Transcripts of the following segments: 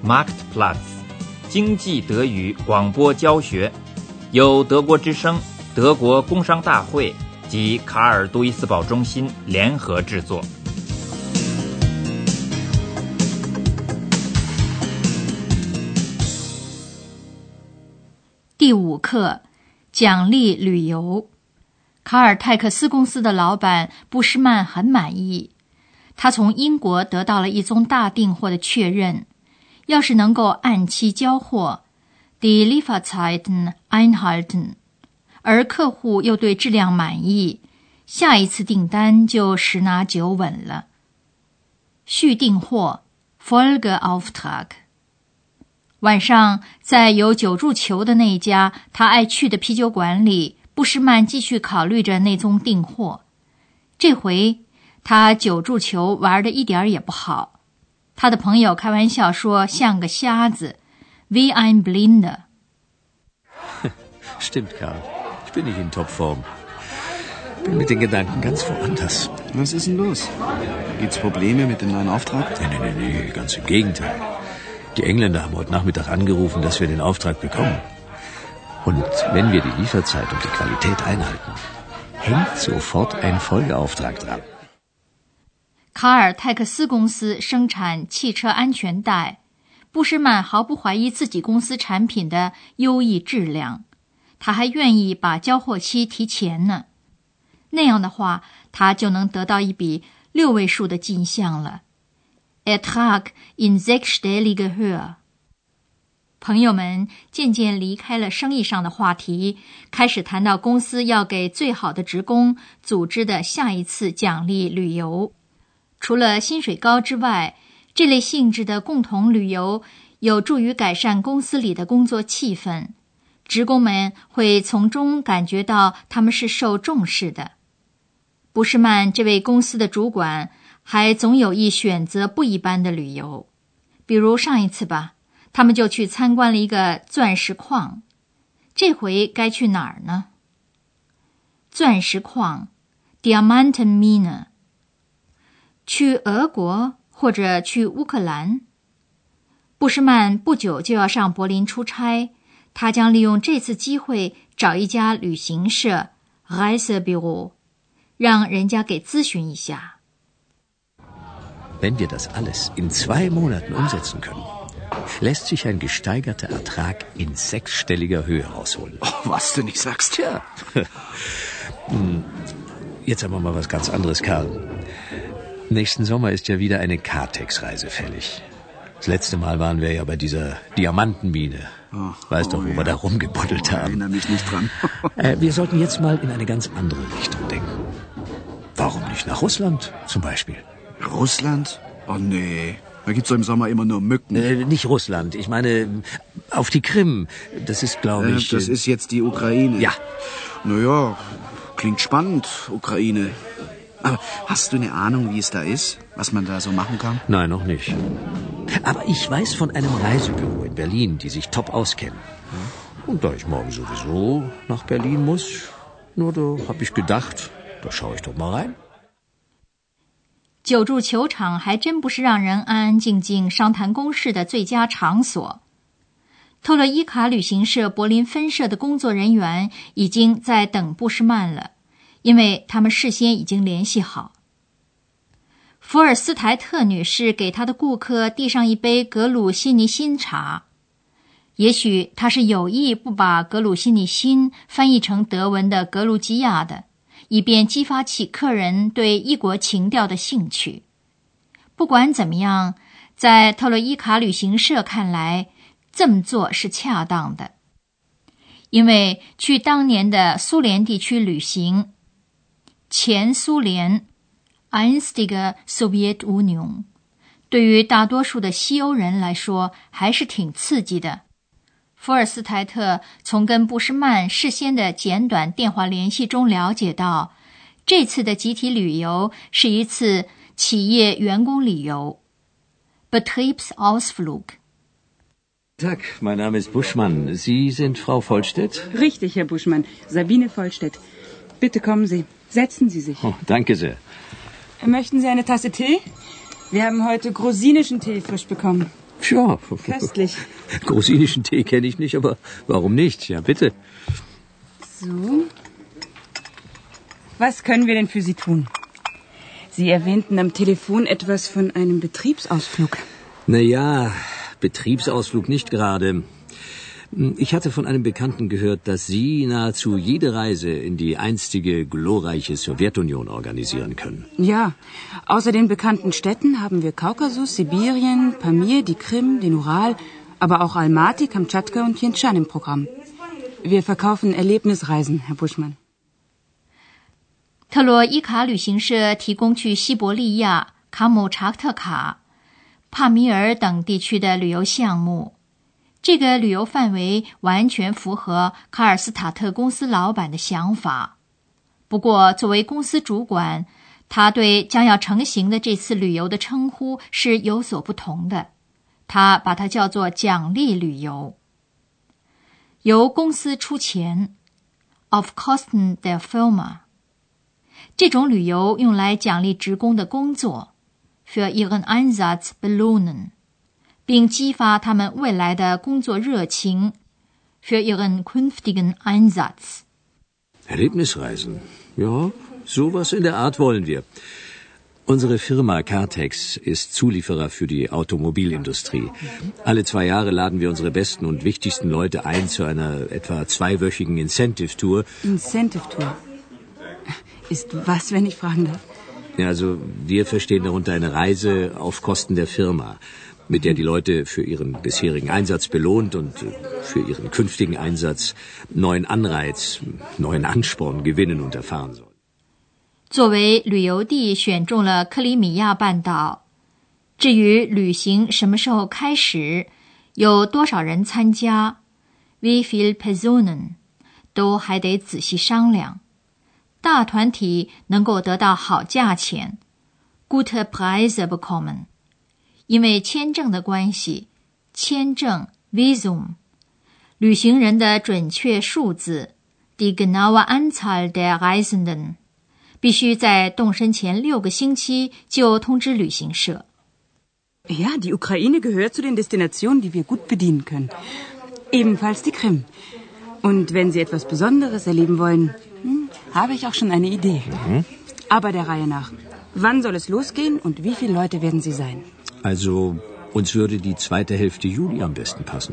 Marktplatz， 经济德语广播教学，由德国之声、德国工商大会及卡尔杜伊斯堡中心联合制作。 第5课，奖励旅游。卡尔泰克斯公司的老板布施曼很满意，他从英国得到了一宗大订货的确认，要是能够按期交货 die Lieferzeiten einhalten， 而客户又对质量满意，下一次订单就十拿九稳了。续订货 Folgeauftrag。晚上，在有九柱球的那一家他爱去的啤酒馆里，布施曼继续考虑着那宗订货。这回他九柱球玩得一点也不好，他的朋友开玩笑说像个瞎子 wie ein Blinder。 Stimmt, Karl. Ich bin nicht in Topform. Bin mit den Gedanken ganz woanders. Was ist denn los? Gibt's Probleme mit dem neuen Auftrag? Nee, ganz im Gegenteil.Die Engländer haben heute Nachmittag angerufen, dass wir den Auftrag bekommen. Und wenn wir die Lieferzeit und die Qualität einhalten, hängt sofort ein Folgeauftrag dran. 卡尔泰克斯公司生产汽车安全带，布施曼毫不怀疑自己公司产品的优异质量，他还愿意把交货期提前呢。那样的话，他就能得到一笔6位数的进项了。Ertrag in sechsstellige Höhe。 朋友们渐渐离开了生意上的话题，开始谈到公司要给最好的职工组织的下一次奖励旅游。除了薪水高之外，这类性质的共同旅游有助于改善公司里的工作气氛，职工们会从中感觉到他们是受重视的。布施曼这位公司的主管还总有意选择不一般的旅游，比如上一次吧，他们就去参观了一个钻石矿。这回该去哪儿呢？钻石矿 Diamantenmine。 去俄国或者去乌克兰？布施曼不久就要上柏林出差，他将利用这次机会找一家旅行社 Reisebüro， 让人家给咨询一下。 Wenn wir das alles in 2 Monaten umsetzen können, lässt sich ein gesteigerter Ertrag in 6stelliger Höhe rausholen. Oh, was du nicht sagst. Tja. Jetzt haben wir mal was ganz anderes, Karl. Nächsten Sommer ist ja wieder eine Kartex-Reise fällig. Das letzte Mal waren wir ja bei dieser Diamantenmine. Weißt doch, wo wir da rumgebuddelt haben. Erinnere mich nicht dran. Wir sollten jetzt mal in eine ganz andere Richtung denken. Warum nicht nach Russland zum Beispiel?Russland? Oh nee, da gibt's doch im Sommer immer nur Mücken. Nicht Russland, ich meine auf die Krim. Das ist, glaube ich... Das ist jetzt die Ukraine. Ja. Naja, klingt spannend, Ukraine. Aber hast du eine Ahnung, wie es da ist? Was man da so machen kann? Nein, noch nicht. Aber ich weiß von einem Reisebüro in Berlin, die sich top auskennen. Und da ich morgen sowieso nach Berlin muss, nur da habe ich gedacht, da schaue ich doch mal rein. 九柱球场还真不是让人安安静静商谈公事的最佳场所。特洛伊卡旅行社柏林分社的工作人员已经在等布施曼了，因为他们事先已经联系好。福尔斯台特女士给她的顾客递上一杯格鲁希尼辛茶，也许她是有意不把格鲁希尼辛翻译成德文的格鲁吉亚的，以便激发起客人对异国情调的兴趣。不管怎么样，在特洛伊卡旅行社看来，这么做是恰当的。因为去当年的苏联地区旅行，前苏联 einstige Sowjetunion， 对于大多数的西欧人来说还是挺刺激的。福尔斯台特从跟布施曼事先的简短电话联系中了解到，这次的集体旅游是一次企业员工旅游 Betriebsausflug。 Tag, mein Name ist Buschmann. Sie sind Frau Vollstedt? Richtig, Herr Buschmann. Sabine Vollstedt. Bitte kommen Sie. Setzen Sie sich. Oh, danke sehr. Möchten Sie eine Tasse Tee? Wir haben heute grosinischen Tee frisch bekommen. Tja. Köstlich. Grusinischen Tee kenne ich nicht, aber warum nicht? Ja, bitte. So. Was können wir denn für Sie tun? Sie erwähnten am Telefon etwas von einem Betriebsausflug. Naja, Betriebsausflug nicht gerade. Ich hatte von einem Bekannten gehört, dass Sie nahezu jede Reise in die einstige glorreiche Sowjetunion organisieren können. Ja, außer den bekannten Städten haben wir Kaukasus, Sibirien, Pamir, die Krim, den Ural, aber auch Almaty, Kamtschatka und Tientschan im Programm. Wir verkaufen Erlebnisreisen, Herr Buschmann. 特洛伊卡旅行社提供去西伯利亚、卡姆查特卡、帕米尔等地区的旅游项目。这个旅游范围完全符合卡尔斯塔特公司老板的想法。不过，作为公司主管，他对将要成行的这次旅游的称呼是有所不同的。他把它叫做奖励旅游，由公司出钱 ，auf Kosten der Firma。这种旅游用来奖励职工的工作 für ihren Einsatz belohnen， 并激发他们未来的工作热情 für ihren künftigen Einsatz。 Erlebnisreisen? Ja, sowas in der Art wollen wir. Unsere Firma Cartex ist Zulieferer für die Automobilindustrie. Alle 2 Jahre laden wir unsere besten und wichtigsten Leute ein zu einer etwa 2-wöchigen Incentive-Tour. Incentive-Tour? Ist was, wenn ich fragen darf? Ja, also wir verstehen darunter eine Reise auf Kosten der Firma, mit der die Leute für ihren bisherigen Einsatz belohnt und für ihren künftigen Einsatz neuen Anreiz, neuen Ansporn gewinnen und erfahren sollen. 作为旅游地选中了克里米亚半岛，至于旅行什么时候开始，有多少人参加 wie viele Personen 都还得仔细商量。大团体能够得到好价钱 gute Preise bekommen， 因为签证的关系，签证 Visum， 旅行人的准确数字 die genaue Anzahl der Reisenden， 必须在动身前6个星期就通知旅行社。 Ja, die Ukraine gehört zu den Destinationen, die wir gut bedienen können. Ebenfalls die Krim. Und wenn Sie etwas Besonderes erleben wollen, habe ich auch schon eine Idee. Aber der Reihe nach. Wann soll es losgehen und wie viele Leute werden Sie sein? Also, uns würde die zweite Hälfte Juli am besten passen.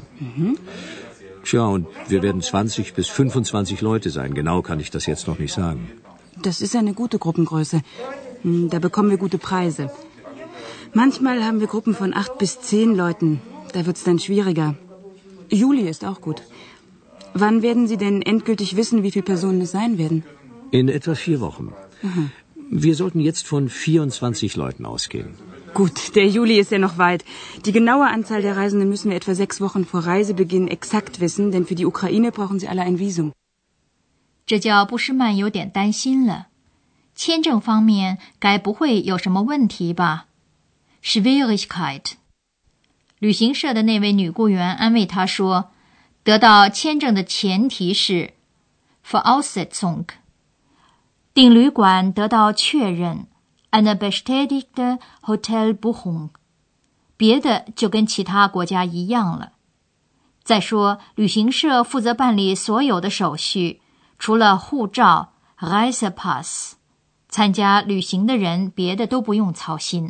Tja, und wir werden 20 bis 25 Leute sein. Genau kann ich das jetzt noch nicht sagen. Das ist eine gute Gruppengröße. Da bekommen wir gute Preise. Manchmal haben wir Gruppen von 8 bis 10 Leuten. Da wird's dann schwieriger. Juli ist auch gut. Wann werden Sie denn endgültig wissen, wie viele Personen es sein werden? In etwa 4 Wochen. Wir sollten jetzt von 24 Leuten ausgehen. Gut, der Juli ist ja noch weit. Die genaue Anzahl der Reisenden müssen wir etwa 6 Wochen vor Reisebeginn exakt wissen, denn für die Ukraine brauchen sie alle ein Visum. 这叫布什曼有点担心了。签证方面该不会有什么问题吧？ Schwierigkeit。 旅行社的那位女雇员安慰他说，得到签证的前提是 Voraussetzung， 订旅馆得到确认 eine bestätigte Hotelbuchung， 别的就跟其他国家一样了。再说，旅行社负责办理所有的手续，除了护照 Reisepass， 参加旅行的人别的都不用操心。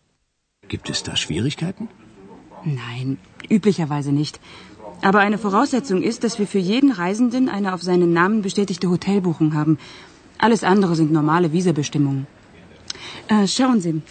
Gibt es da Schwierigkeiten? Nein, üblicherweise nicht. Aber eine Voraussetzung ist, dass wir für jeden Reisenden eine auf seinen Namen bestätigte Hotelbuchung haben. Alles andere sind normale Visabestimmungen. Schauen Sie.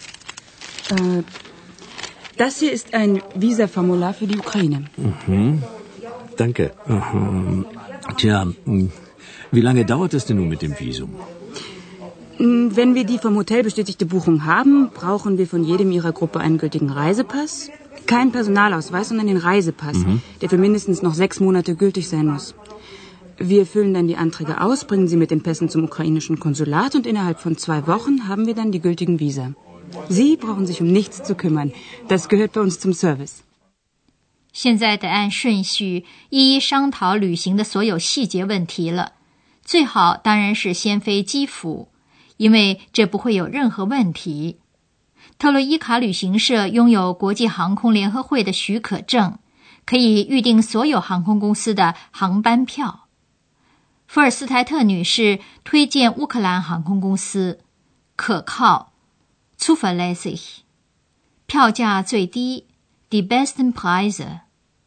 Das hier ist ein Visaformular für die Ukraine. Danke. Tja, wie lange dauert es denn nun mit dem Visum? Wenn wir die vom Hotel bestätigte Buchung haben, brauchen wir von jedem Ihrer Gruppe einen gültigen Reisepass. Kein Personalausweis, sondern den Reisepass, der für mindestens noch 6 Monate gültig sein muss. Wir füllen dann die Anträge aus, bringen sie mit den Pässen zum ukrainischen Konsulat und innerhalb von 2 Wochen haben wir dann die gültigen Visa. Sie brauchen sich um nichts zu kümmern. Das gehört bei uns zum Service. 现在得按顺序一一商讨旅行的所有细节问题了。最好当然是先飞基辅，因为这不会有任何问题。 特洛伊卡旅行社拥有国际航空联合会的许可证，可以预订所有航空公司的航班票。福尔斯台特女士推荐乌克兰航空公司，可靠 zuverlässig， 票价最低 die besten Preise。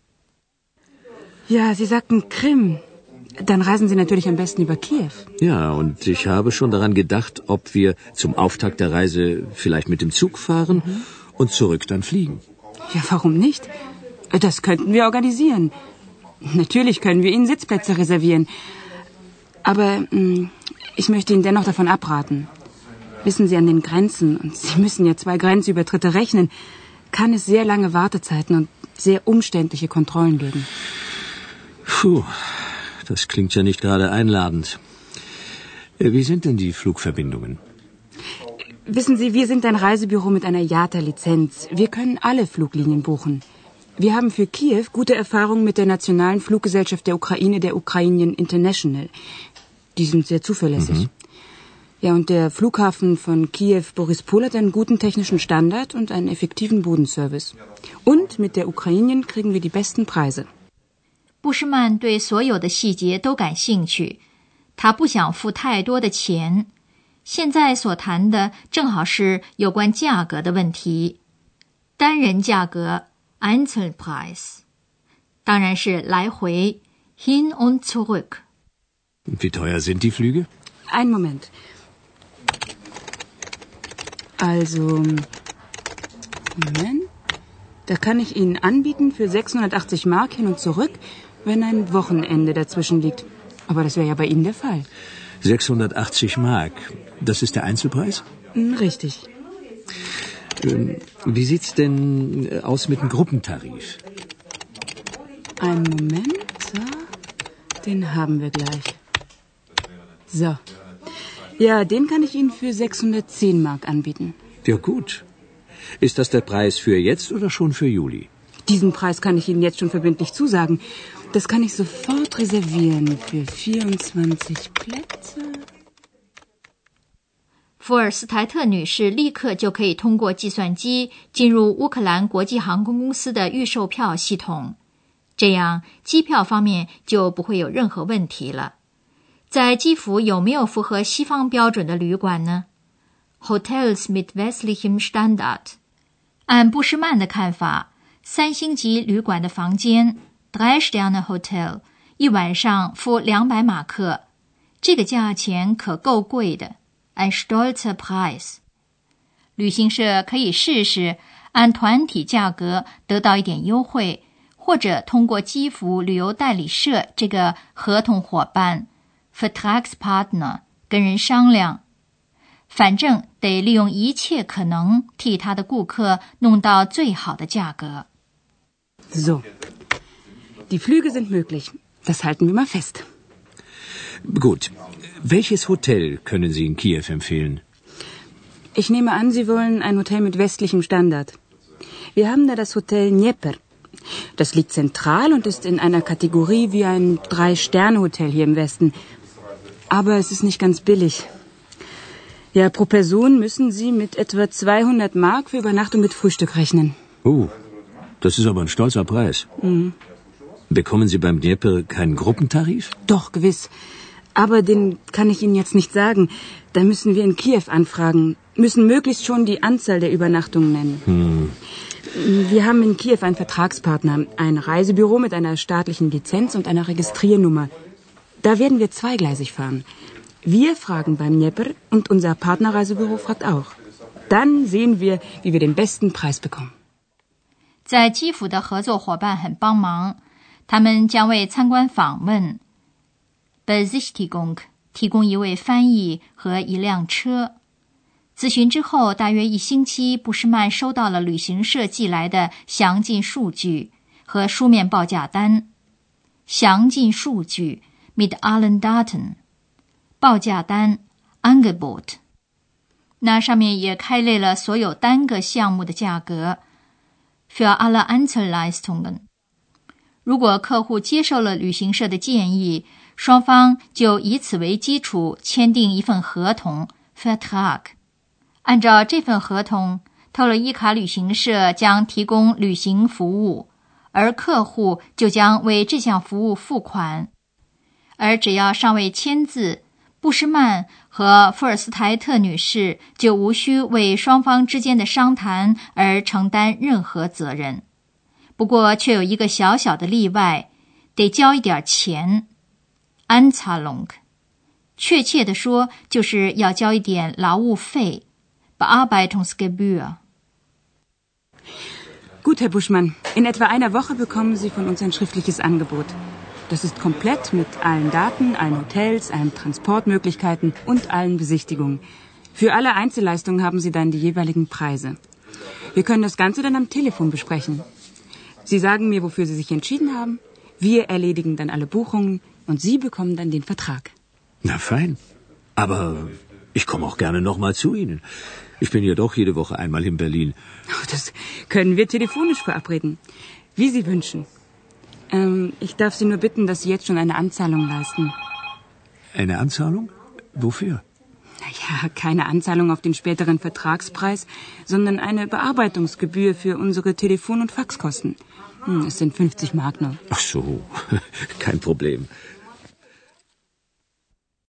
Ja, Sie sagten Krim. Dann reisen Sie natürlich am besten über Kiew. Ja, und ich habe schon daran gedacht, ob wir zum Auftakt der Reise vielleicht mit dem Zug fahren und zurück dann fliegen. Ja, warum nicht? Das könnten wir organisieren. Natürlich können wir Ihnen Sitzplätze reservieren. Aber ich möchte Ihnen dennoch davon abraten. Wissen Sie, an den Grenzen, und Sie müssen ja 2 Grenzübertritte rechnen, kann es sehr lange Wartezeiten und sehr umständliche Kontrollen geben. Puh, das klingt ja nicht gerade einladend. Wie sind denn die Flugverbindungen? Wissen Sie, wir sind ein Reisebüro mit einer IATA-Lizenz. Wir können alle Fluglinien buchen. Wir haben für Kiew gute Erfahrungen mit der nationalen Fluggesellschaft der Ukraine, der Ukrainian International. Die sind sehr zuverlässig. Ja, und der Flughafen von Kiew Borispol hat einen guten technischen Standard und einen effektiven Bodenservice. Und mit der Ukrainian kriegen wir die besten Preise. 布什曼对所有的细节都感兴趣，他不想付太多的钱。现在所谈的正好是有关价格的问题，单人价格 Einzelpreis， 当然是来回 hin und zurück。 Wie teuer sind die Flüge? Einen Moment. Also, Moment. Da kann ich Ihnen anbieten für 680 Mark hin und zurück, wenn ein Wochenende dazwischen liegt. Aber das wäre ja bei Ihnen der Fall. 680 Mark. Das ist der Einzelpreis? Richtig. Wie sieht's denn aus mit dem Gruppentarif? Einen Moment. So. Den haben wir gleich. So. Ja, den kann ich Ihnen für 610 Mark anbieten. Ja, gut. Ist das der Preis für jetzt oder schon für Juli? Diesen Preis kann ich Ihnen jetzt schon verbindlich zusagen. Das kann ich sofort reservieren für 24 Plätze. 福尔斯台特女士立刻就可以通过计算机进入乌克兰国际航空公司的预售票系统，这样机票方面就不会有任何问题了。在基辅有没有符合西方标准的旅馆呢？ Hotels mit westlichem Standard。 按布什曼的看法，3星级旅馆的房间 3 Sterne Hotel 一晚上付200马克，这个价钱可够贵的， ein stolzer Preis。 旅行社可以试试按团体价格得到一点优惠，或者通过基辅旅游代理社这个合同伙伴 Vertragspartner 跟人商量，反正得利用一切可能替他的顾客弄到最好的价格。 So. Die Flüge sind möglich. Das halten wir mal fest. Gut. Welches Hotel können Sie in Kiew empfehlen? Ich nehme an, Sie wollen ein Hotel mit westlichem Standard. Wir haben da das Hotel Dnieper. Das liegt zentral und ist in einer Kategorie wie ein 3-Sterne-Hotel hier im Westen. Aber es ist nicht ganz billig. Ja, pro Person müssen Sie mit etwa 200 Mark für Übernachtung mit Frühstück rechnen. Das ist aber ein stolzer Preis. Bekommen Sie beim Dnieper keinen Gruppentarif? Doch, gewiss. Aber den kann ich Ihnen jetzt nicht sagen. Da müssen wir in Kiew anfragen, müssen möglichst schon die Anzahl der Übernachtungen nennen. Wir haben in Kiew einen Vertragspartner, ein Reisebüro mit einer staatlichen Lizenz und einer Registriernummer. Da werden wir zweigleisig fahren. Wir fragen beim Dnieper und unser Partnerreisebüro fragt auch. Dann sehen wir, wie wir den besten Preis bekommen. 在基辅的合作伙伴很帮忙，他们将为参观访问 Besichtigung 提供一位翻译和一辆车。咨询之后大约1星期，布什曼收到了旅行社寄来的详尽数据和书面报价单。详尽数据 mit allen Daten， 报价单 Angebot， 那上面也开列了所有单个项目的价格 für alle Einzelleistungen。 如果客户接受了旅行社的建议，双方就以此为基础签订一份合同 Vertrag。 按照这份合同特洛伊卡旅行社将提供旅行服务，而客户就将为这项服务付款。而只要尚未签字，布什曼和福尔斯台特女士就无需为双方之间的商谈而承担任何责任。不过却有一个小小的例外，得交一点钱 Anzahlung， 确切地说就是要交一点劳务费 Bearbeitungsgebühr。 Gut, Herr Buschmann, in etwa einer Woche bekommen Sie von uns ein schriftliches Angebot.Das ist komplett mit allen Daten, allen Hotels, allen Transportmöglichkeiten und allen Besichtigungen. Für alle Einzelleistungen haben Sie dann die jeweiligen Preise. Wir können das Ganze dann am Telefon besprechen. Sie sagen mir, wofür Sie sich entschieden haben. Wir erledigen dann alle Buchungen und Sie bekommen dann den Vertrag. Na fein. Aber ich komme auch gerne nochmal zu Ihnen. Ich bin ja doch jede Woche einmal in Berlin. Das können wir telefonisch verabreden. Wie Sie wünschen.Ich darf Sie nur bitten, dass Sie jetzt schon eine Anzahlung leisten. Eine Anzahlung? Wofür? Naja, keine Anzahlung auf den späteren Vertragspreis, sondern eine Bearbeitungsgebühr für unsere Telefon- und Faxkosten. Es sind 50 Mark nur. Ach so, kein Problem.